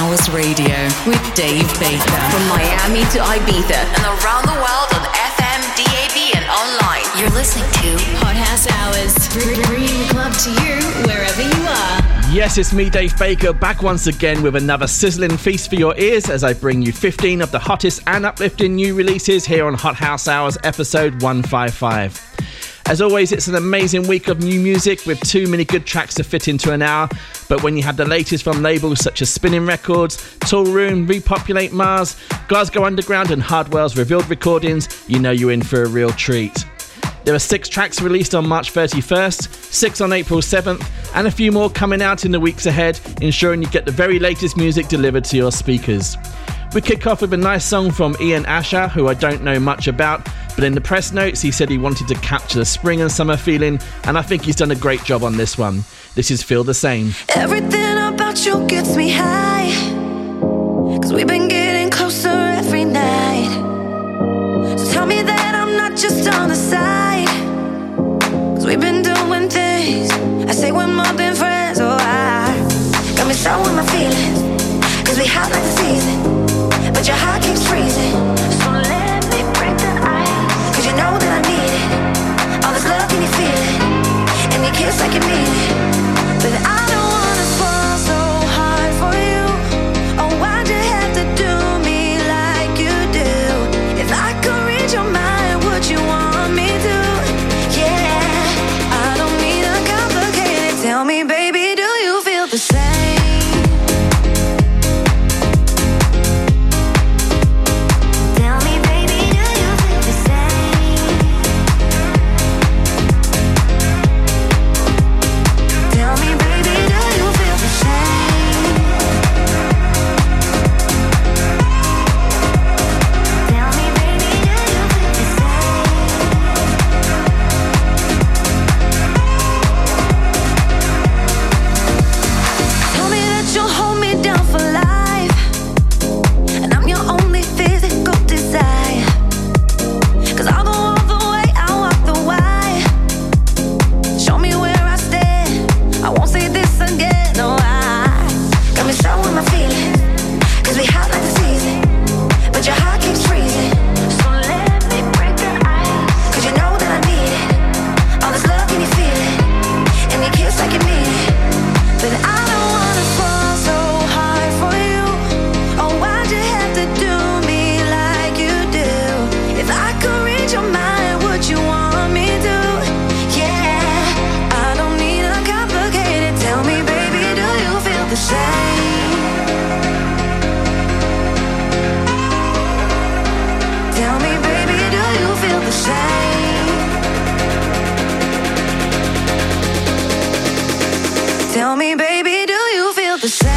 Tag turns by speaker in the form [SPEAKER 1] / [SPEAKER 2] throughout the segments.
[SPEAKER 1] House Radio with Dave Baker.
[SPEAKER 2] From Miami to Ibiza and around the world on FM, DAB and online. You're listening to
[SPEAKER 1] Hot House Hours, bringing the club to you wherever you are.
[SPEAKER 3] Yes, it's me, Dave Baker, back once again with another sizzling feast for your ears as I bring you 15 of the hottest and uplifting new releases here on Hot House Hours episode 155. As always, it's an amazing week of new music with too many good tracks to fit into an hour. But when you have the latest from labels such as Spinning Records, Toolroom, Repopulate Mars, Glasgow Underground and Hardwell's Revealed Recordings, you know you're in for a real treat. There are 6 tracks released on March 31st, 6 on April 7th, and a few more coming out in the weeks ahead, ensuring you get the very latest music delivered to your speakers. We kick off with a nice song from Ian Asher, who I don't know much about, but in the press notes he said he wanted to capture the spring and summer feeling, and I think he's done a great job on this one. This is Feel the Same.
[SPEAKER 4] Everything about you gets me high, 'cause we've been getting closer every night. So tell me that I'm not just on the side, 'cause we've been doing things I say we're more than friends. Oh, I got me showing my feelings, 'cause we hot like the season, but your heart keeps freezing. So let me break the ice, 'cause you know that I need it. All this love, can you feel it? And you kiss like you mean it. But I don't wanna fall so hard for you. Oh, why'd you have to do me like you do? If I could read your mind, would you want me to? Yeah, I don't need a complicated. Tell me, baby, do you feel the same? Tell me, baby, do you feel the same?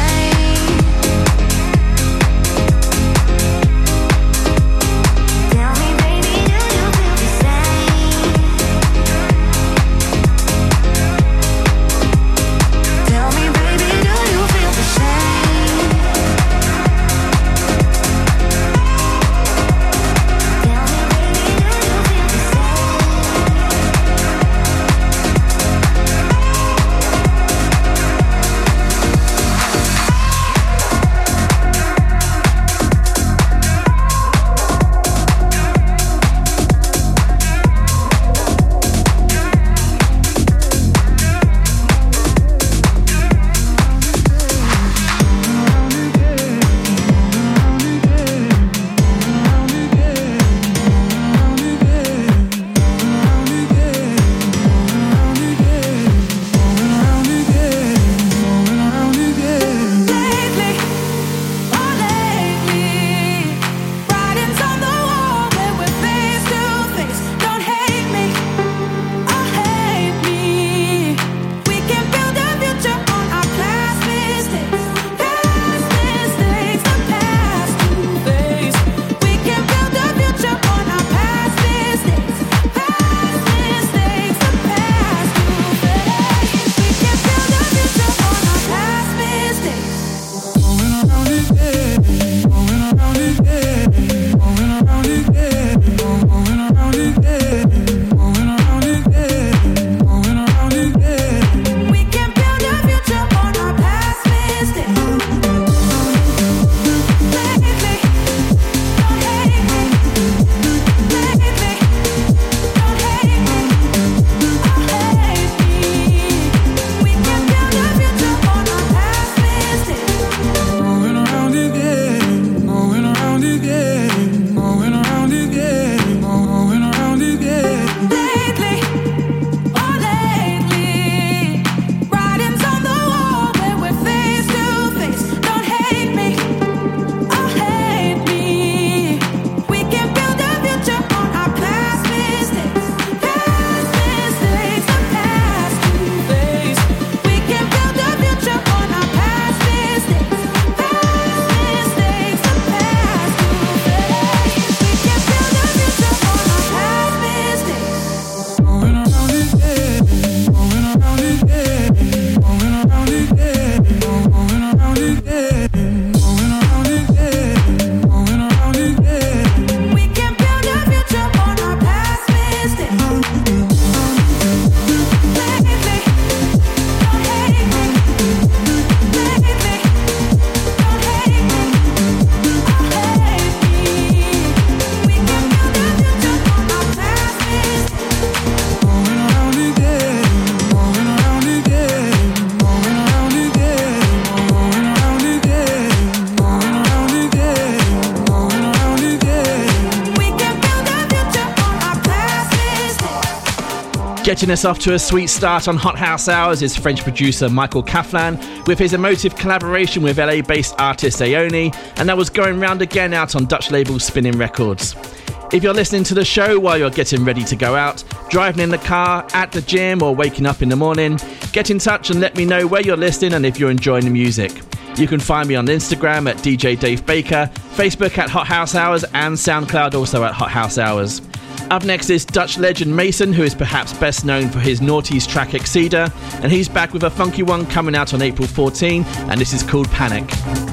[SPEAKER 3] Getting us off to a sweet start on Hot House Hours is French producer Michael Kaflan with his emotive collaboration with LA-based artist Aoni, and that was Going Round Again out on Dutch label Spinning Records. If you're listening to the show while you're getting ready to go out, driving in the car, at the gym or waking up in the morning, get in touch and let me know where you're listening and if you're enjoying the music. You can find me on Instagram at DJ Dave Baker, Facebook at Hot House Hours and SoundCloud also at Hot House Hours. Up next is Dutch legend Mason, who is perhaps best known for his noughties track Exceeder, and he's back with a funky one coming out on April 14, and this is called Panic.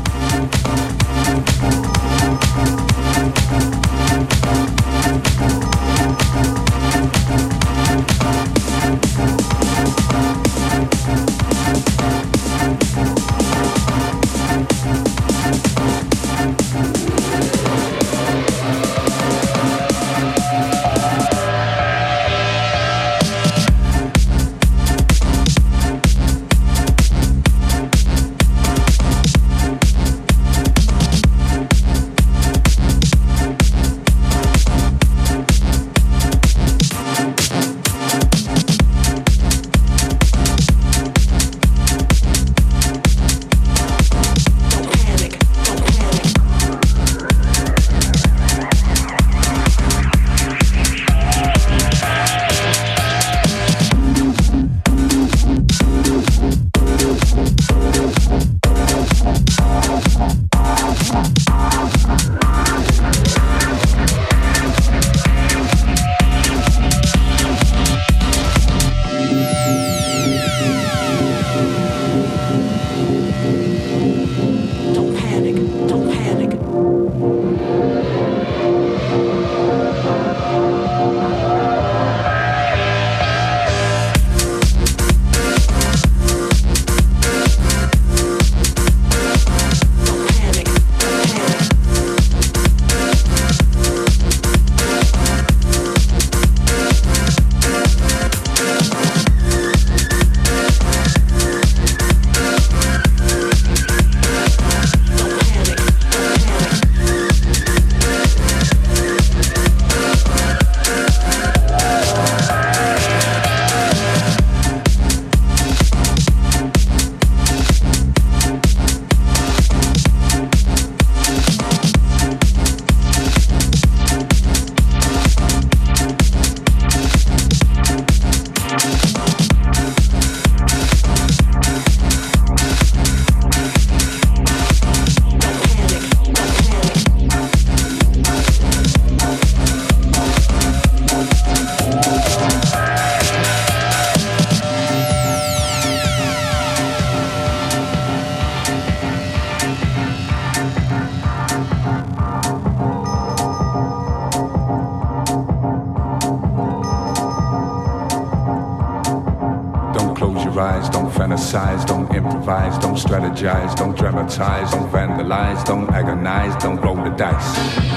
[SPEAKER 5] Don't improvise, don't strategize, don't dramatize, don't vandalize, don't agonize, don't roll the dice.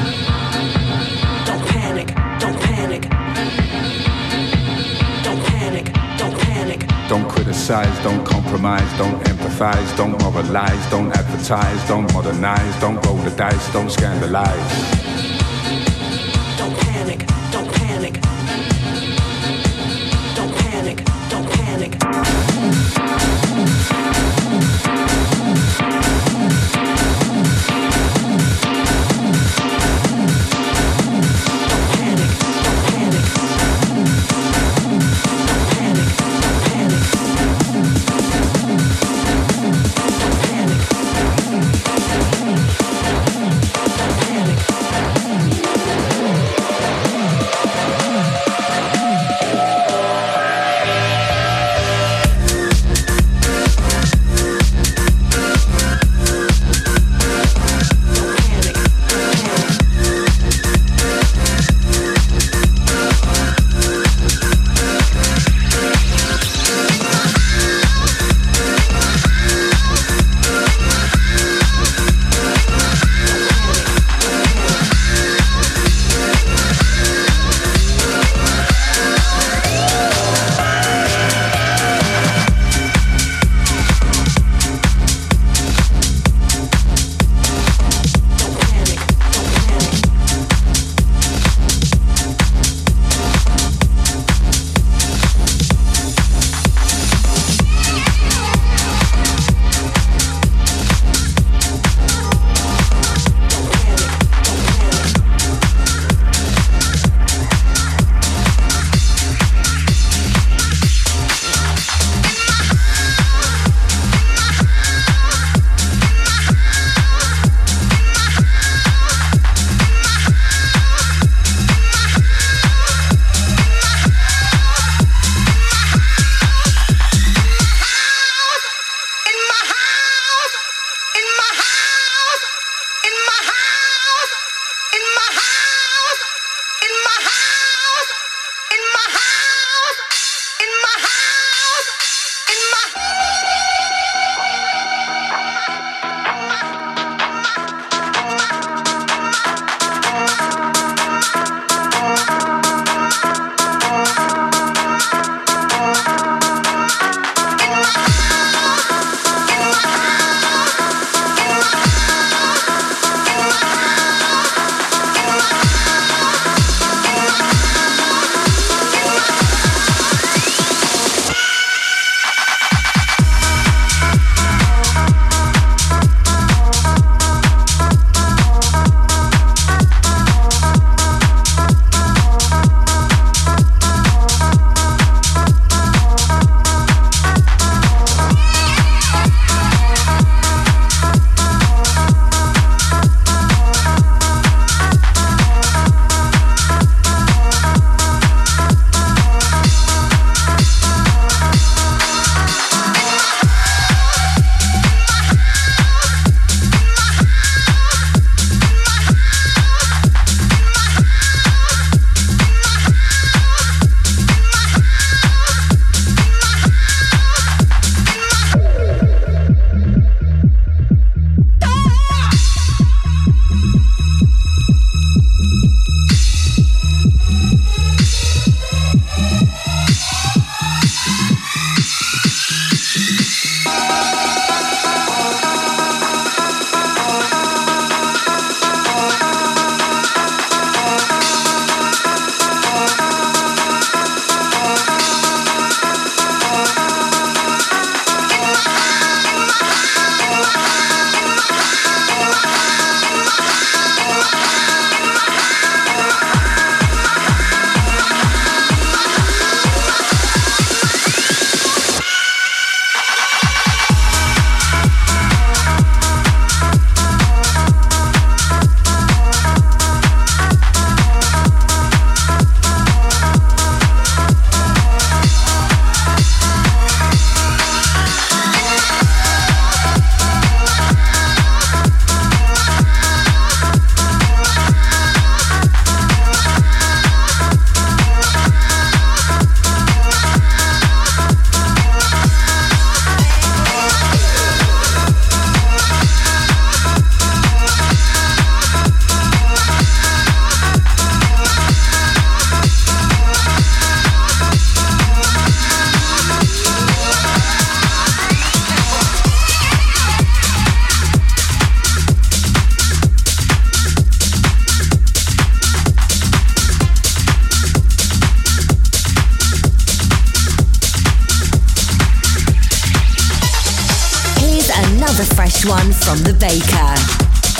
[SPEAKER 4] Don't panic, don't panic. Don't panic, don't panic.
[SPEAKER 5] Don't criticize, don't compromise, don't empathize, don't moralize, don't advertise, don't modernize, don't roll the dice, don't scandalize.
[SPEAKER 4] Don't panic, don't panic. Don't panic, don't panic.
[SPEAKER 5] Don't panic.
[SPEAKER 1] another fresh one from The Baker.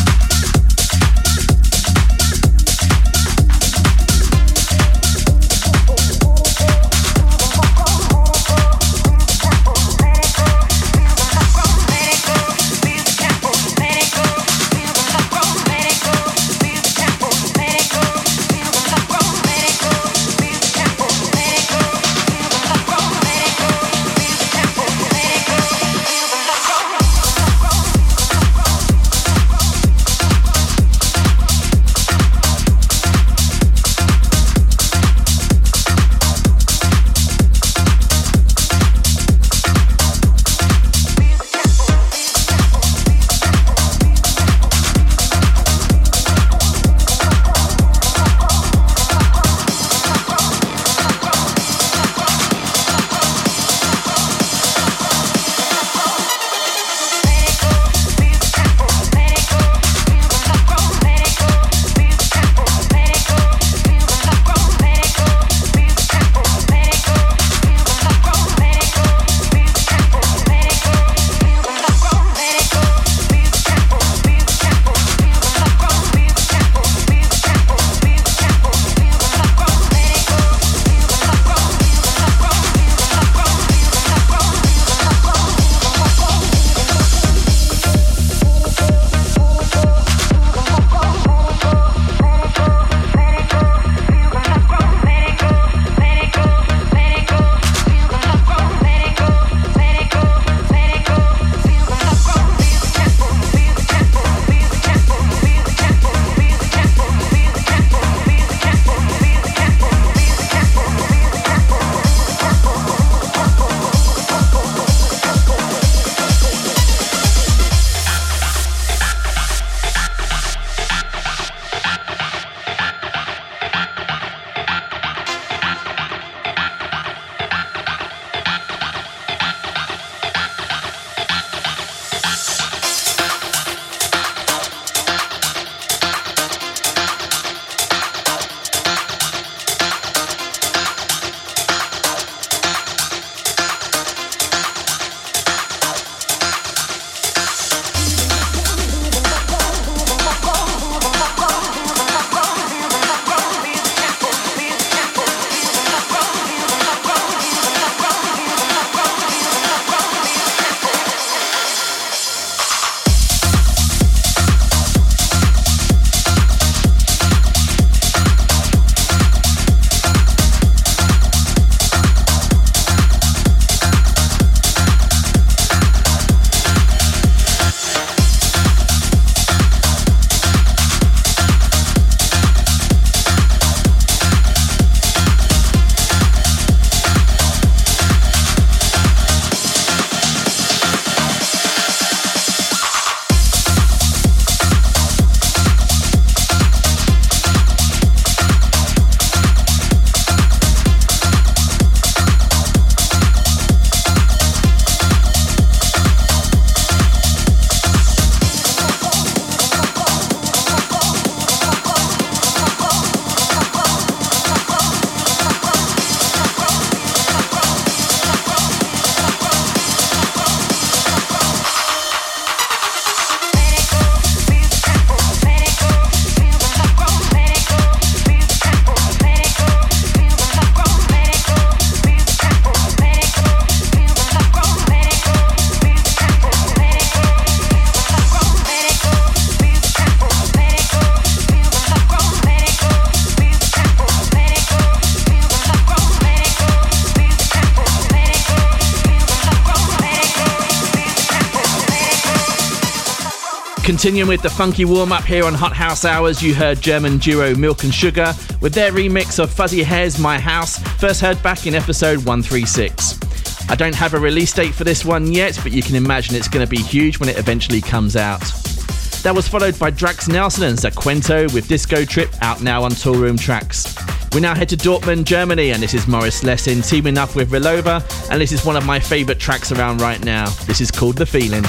[SPEAKER 3] Continuing with the funky warm-up here on Hot House Hours, you heard German duo Milk and Sugar with their remix of Fuzzy Hair's My House, first heard back in episode 136. I don't have a release date for this one yet, but you can imagine it's going to be huge when it eventually comes out. That was followed by Drax Nelson and Zaquento with Disco Trip, out now on Toolroom Tracks. We now head to Dortmund, Germany, and this is Morris Lessing teaming up with Relova, and this is one of my favourite tracks around right now. This is called The Feeling.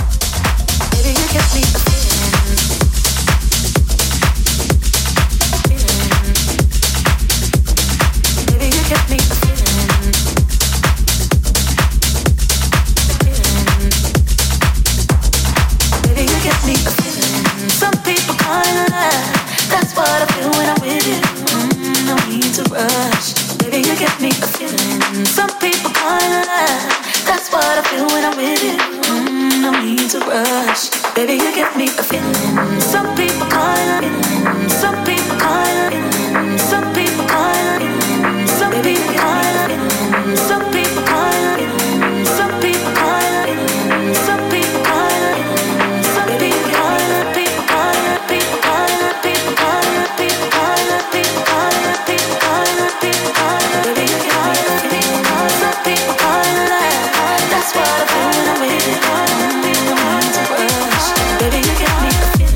[SPEAKER 4] Baby, you give me a rush. Baby, you give me a feeling. Some people call it love. That's what I feel when I'm with you. No need to rush. Baby, you give me a feeling. Some people call it feeling. Some people call it feeling. Some people call it feeling. Some people call it feeling. Some people call it feeling. Some people call it feeling. Some people call it feeling. Some people call it. People call it. People call it. People call it. People call it. People call it. People call it. People call it. Baby, you give me a feeling. Some people call it love. That's what I feel when I'm with you. No need to rush. Baby, you give me a feeling.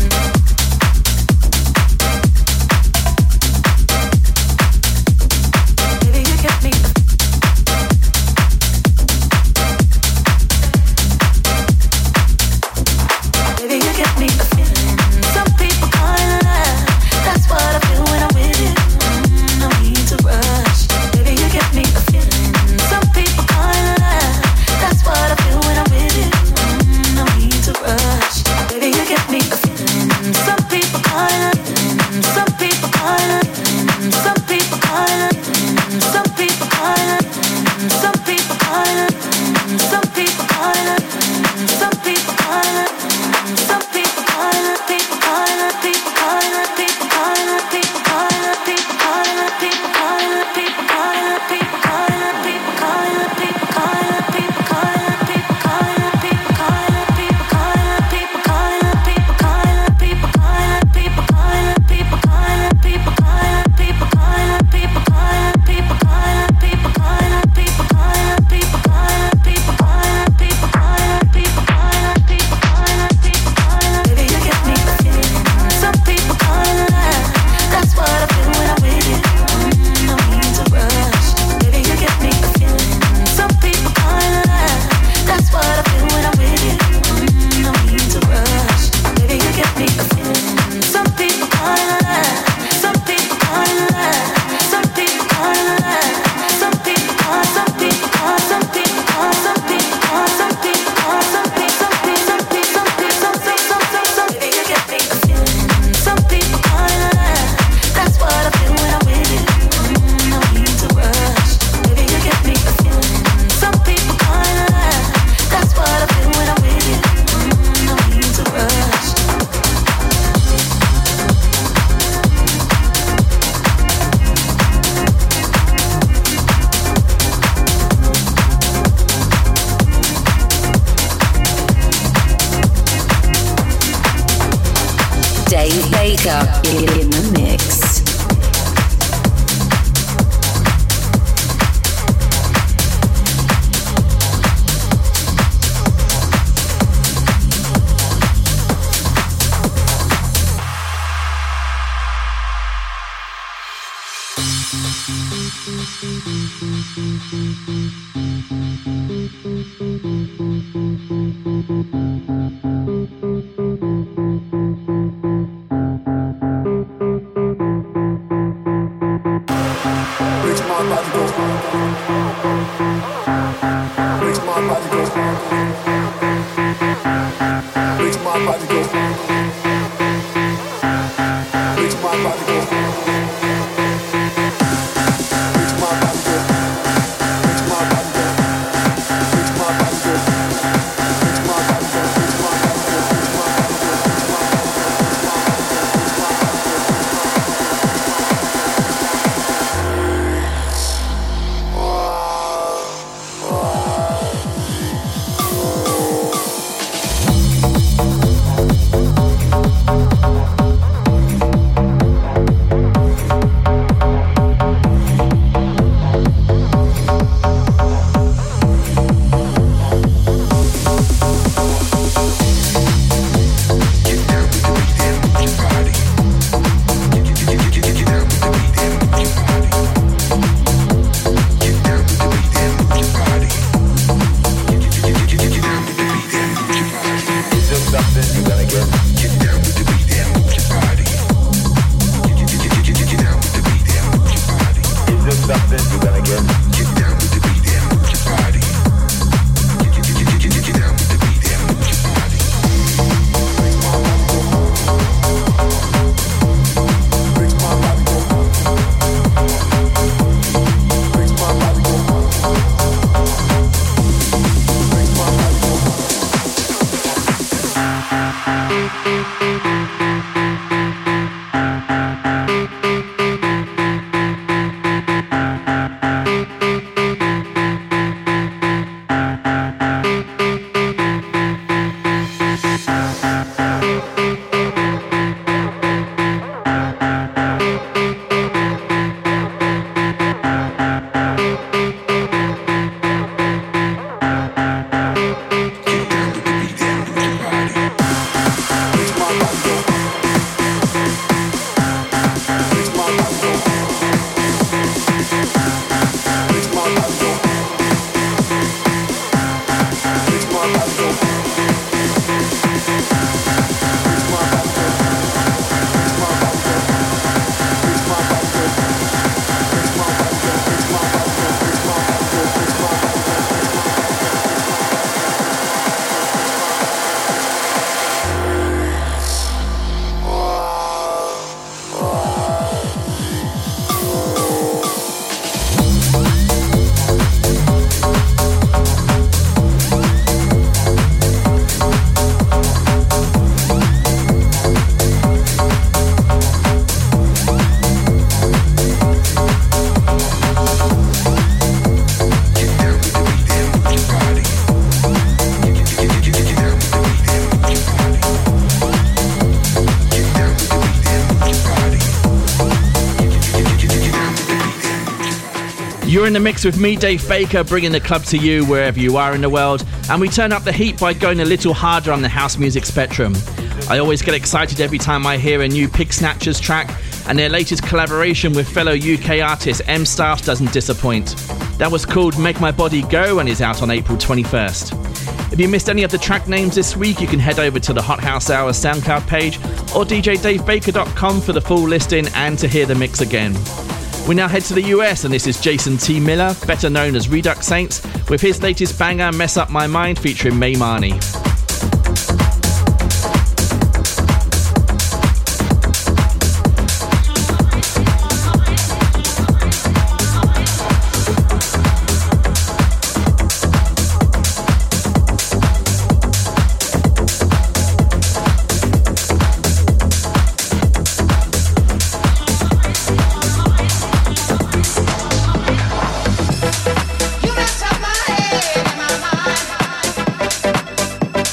[SPEAKER 2] Dave Baker in the mix.
[SPEAKER 3] You're in the mix with me, Dave Baker, bringing the club to you wherever you are in the world, and we turn up the heat by going a little harder on the house music spectrum. I always get excited every time I hear a new Pig Snatchers track, and their latest collaboration with fellow UK artist M Staff doesn't disappoint. That was called Make My Body Go and is out on April 21st. If you missed any of the track names this week, you can head over to the Hot House Hour SoundCloud page or djdavebaker.com for the full listing and to hear the mix again. We now head to the US, and this is Jason T. Miller, better known as Redux Saints, with his latest banger, Mess Up My Mind, featuring May Marnie.
[SPEAKER 6] You mess up my head and my mind.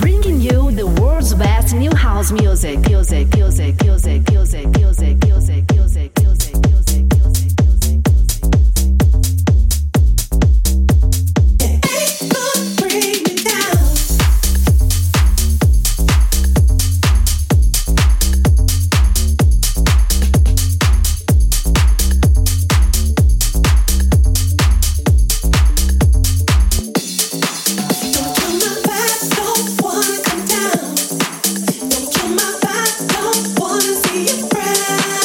[SPEAKER 1] bringing you the world's best new house music.
[SPEAKER 4] Wanna see you cry.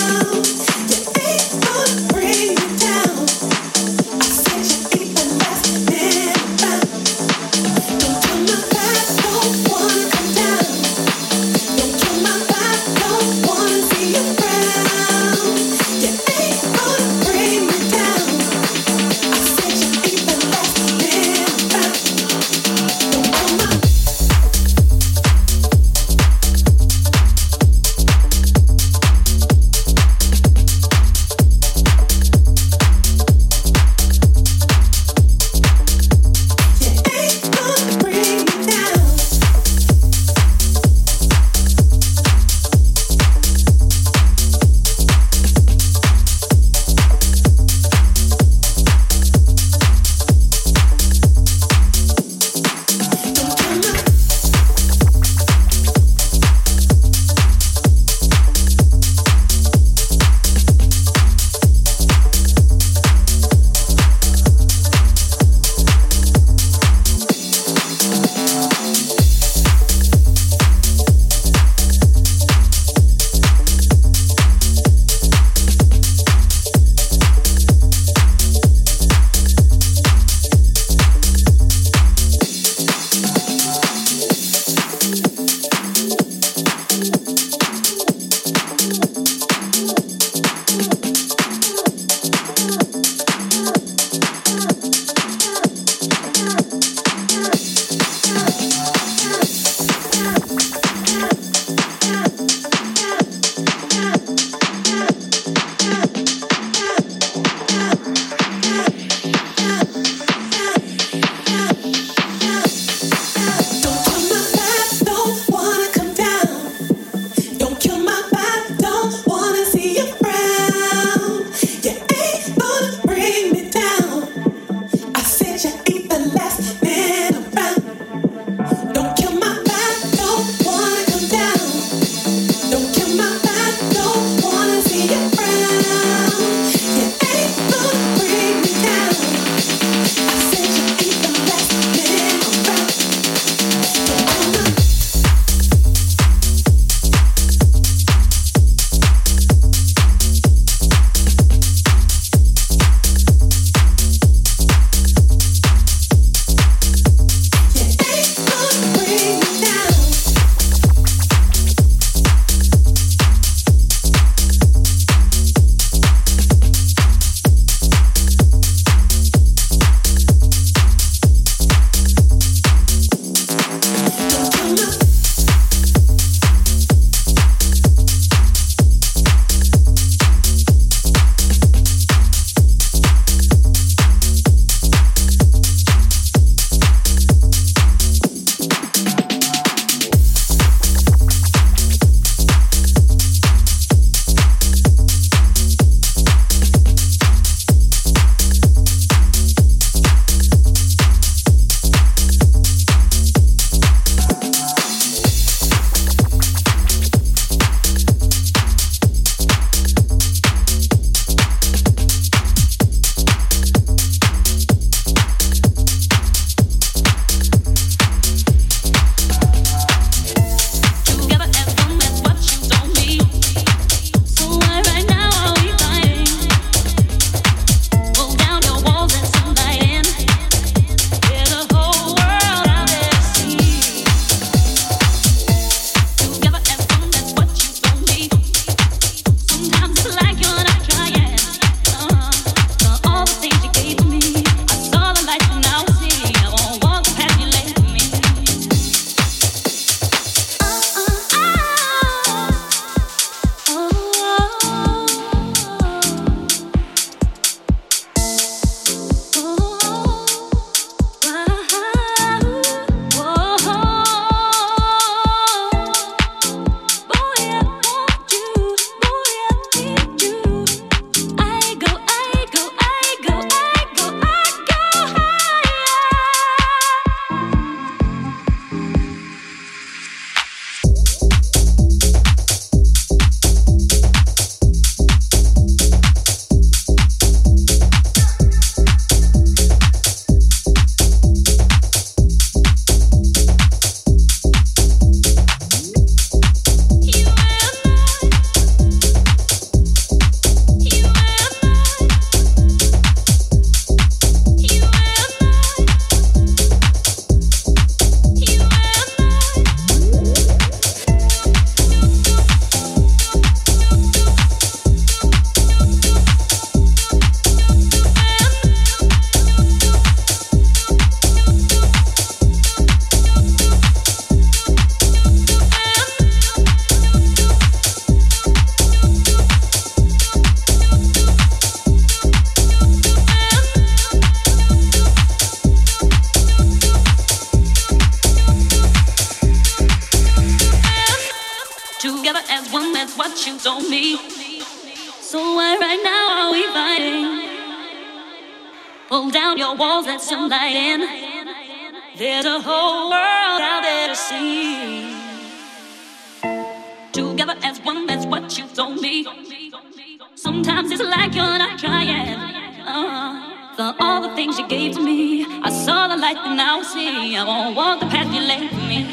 [SPEAKER 6] Together as one, that's what you told me. So why right now are we fighting? Pull down your walls, let some light in. There's a whole world out there to see. Together as one, that's what you told me. Sometimes it's like you're not trying. For all the things you gave to me, I saw the light that now I see. I won't walk the path you laid for me.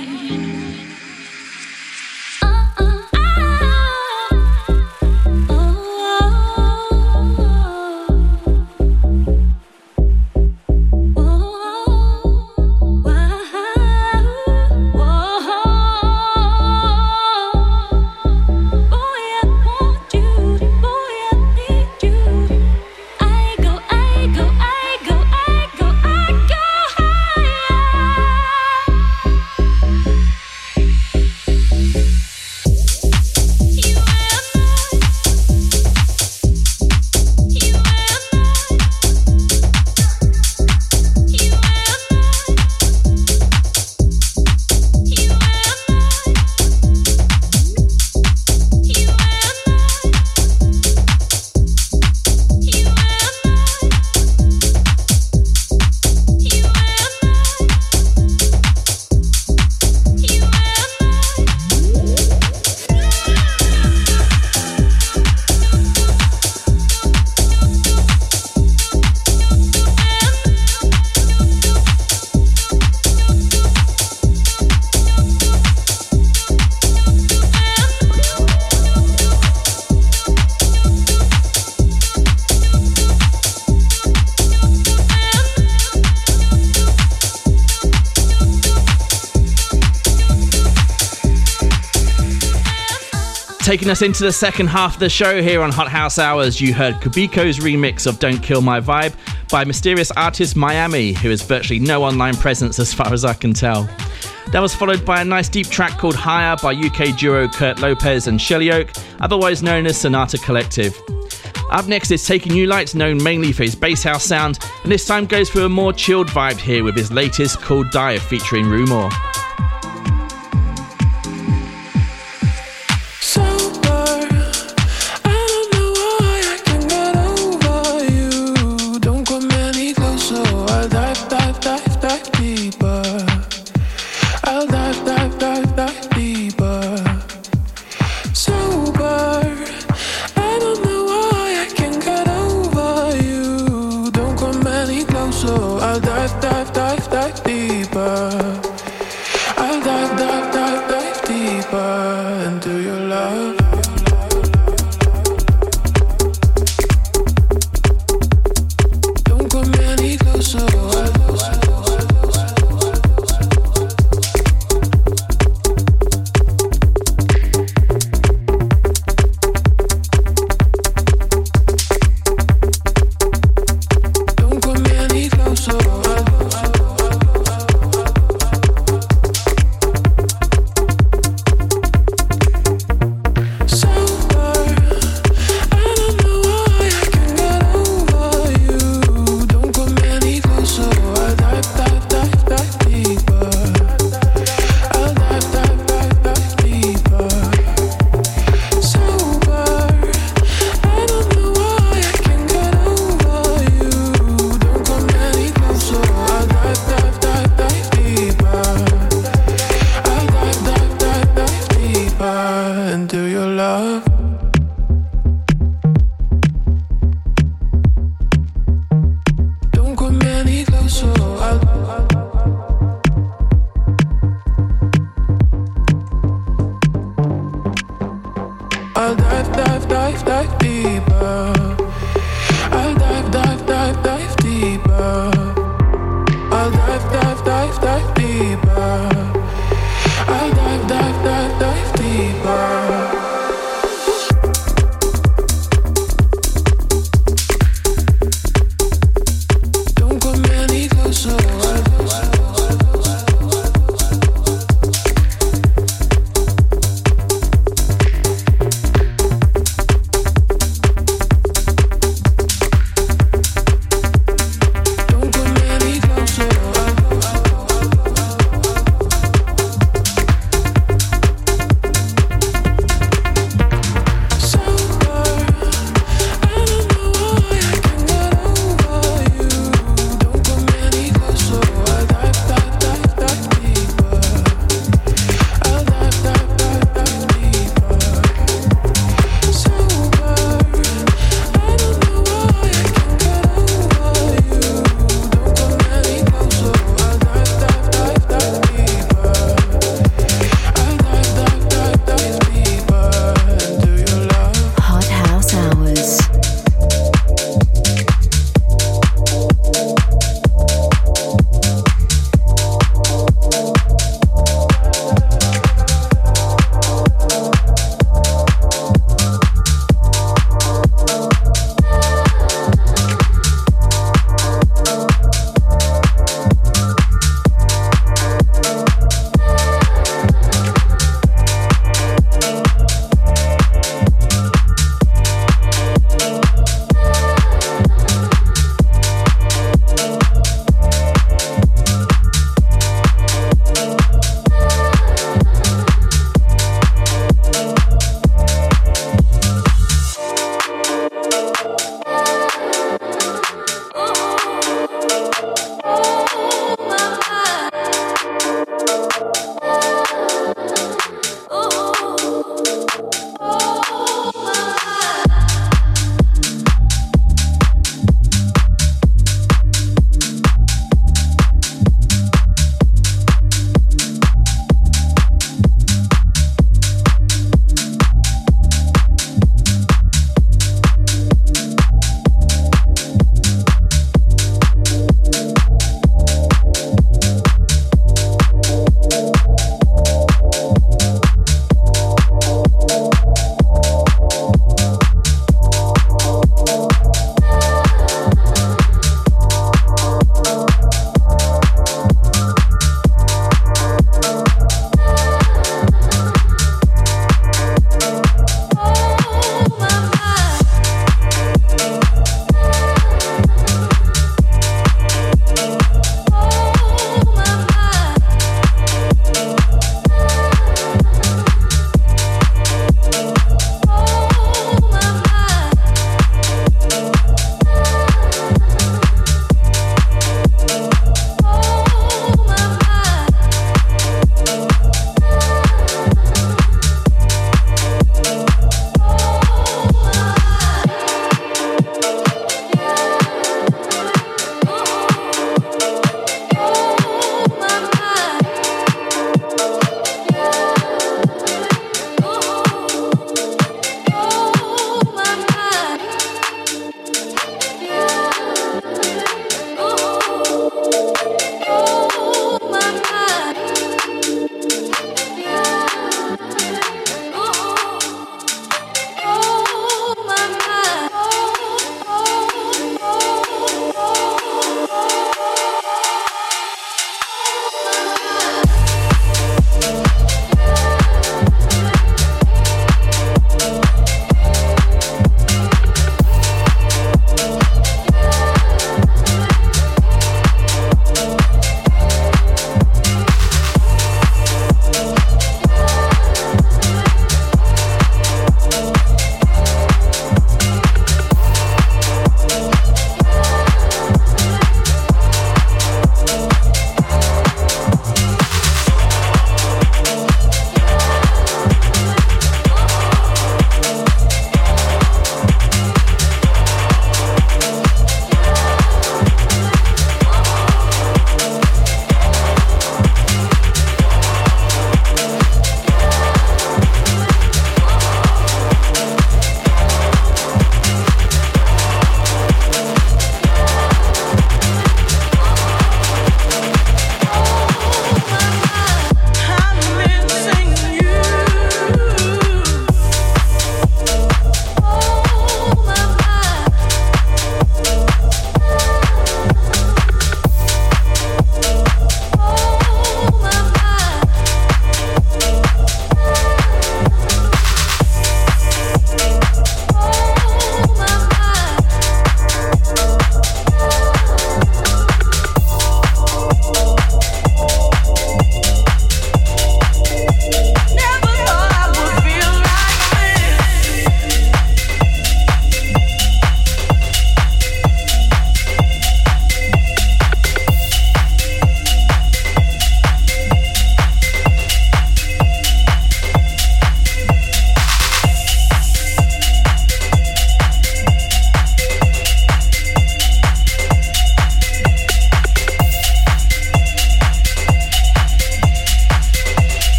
[SPEAKER 3] Taking us into the second half of the show here on Hot House Hours, you heard Kubiko's remix of Don't Kill My Vibe by mysterious artist Miami, who has virtually no online presence as far as I can tell. That was followed by a nice deep track called Higher by UK duo Kurt Lopez and Shelly Oak, otherwise known as Sonata Collective. Up next is Taking You Light, known mainly for his bass house sound, and this time goes for a more chilled vibe here with his latest called Dive featuring Rumor.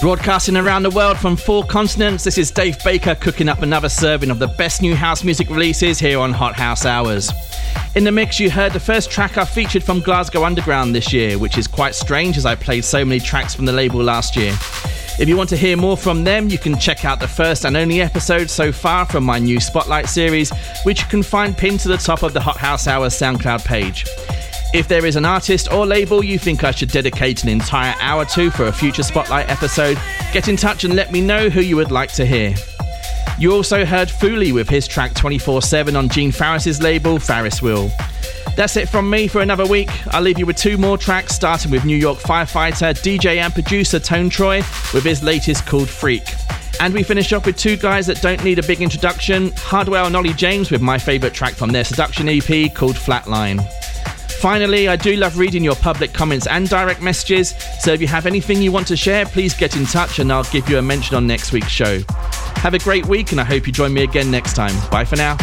[SPEAKER 3] Broadcasting around the world from 4 continents, this is Dave Baker cooking up another serving of the best new house music releases here on Hot House Hours. In the mix, you heard the first track I featured from Glasgow Underground this year, which is quite strange as I played so many tracks from the label last year. If you want to hear more from them, you can check out the first and only episode so far from my new Spotlight series, which you can find pinned to the top of the Hot House Hours SoundCloud page. If there is an artist or label you think I should dedicate an entire hour to for a future Spotlight episode, get in touch and let me know who you would like to hear. You also heard Foolie with his track 24/7 on Gene Farris's label, Farris Wheel. That's it from me for another week. I'll leave you with 2 more tracks, starting with New York firefighter, DJ and producer Tone Troy with his latest called Freak. And we finish off with 2 guys that don't need a big introduction, Hardwell and Ollie James with my favourite track from their Seduction EP called Flatline. Finally, I do love reading your public comments and direct messages, so if you have anything you want to share, please get in touch and I'll give you a mention on next week's show. Have a great week and I hope you join me again next time. Bye for now.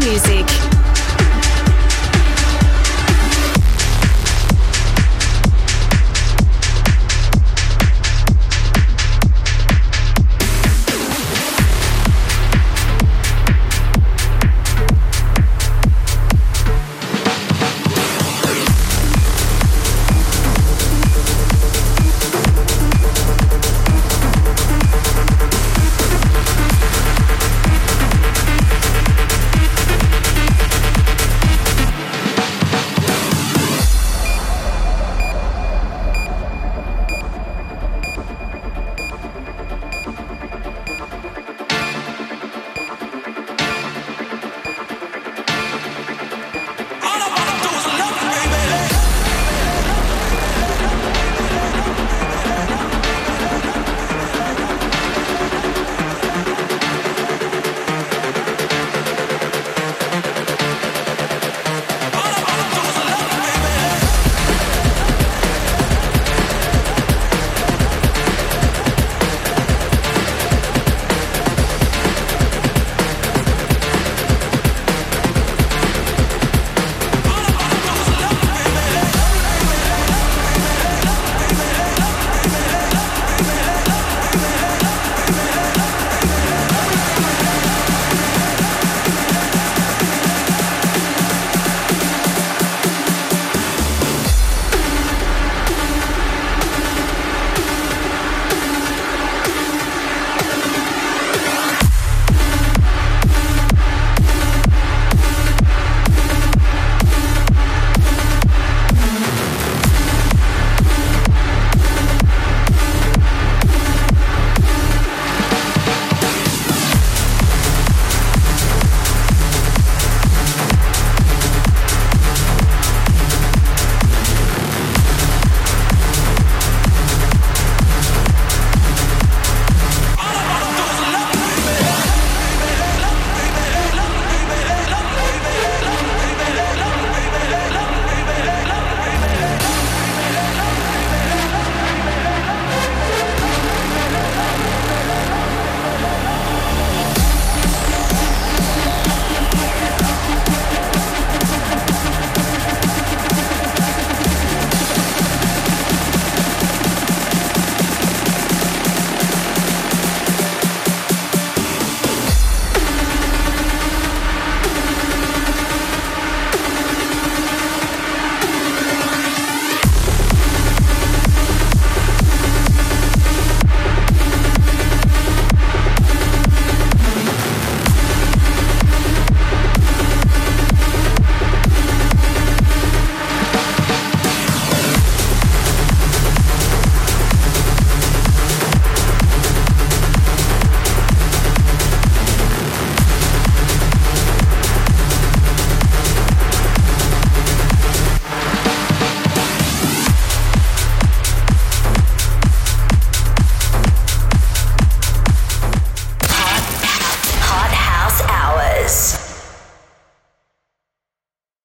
[SPEAKER 1] music.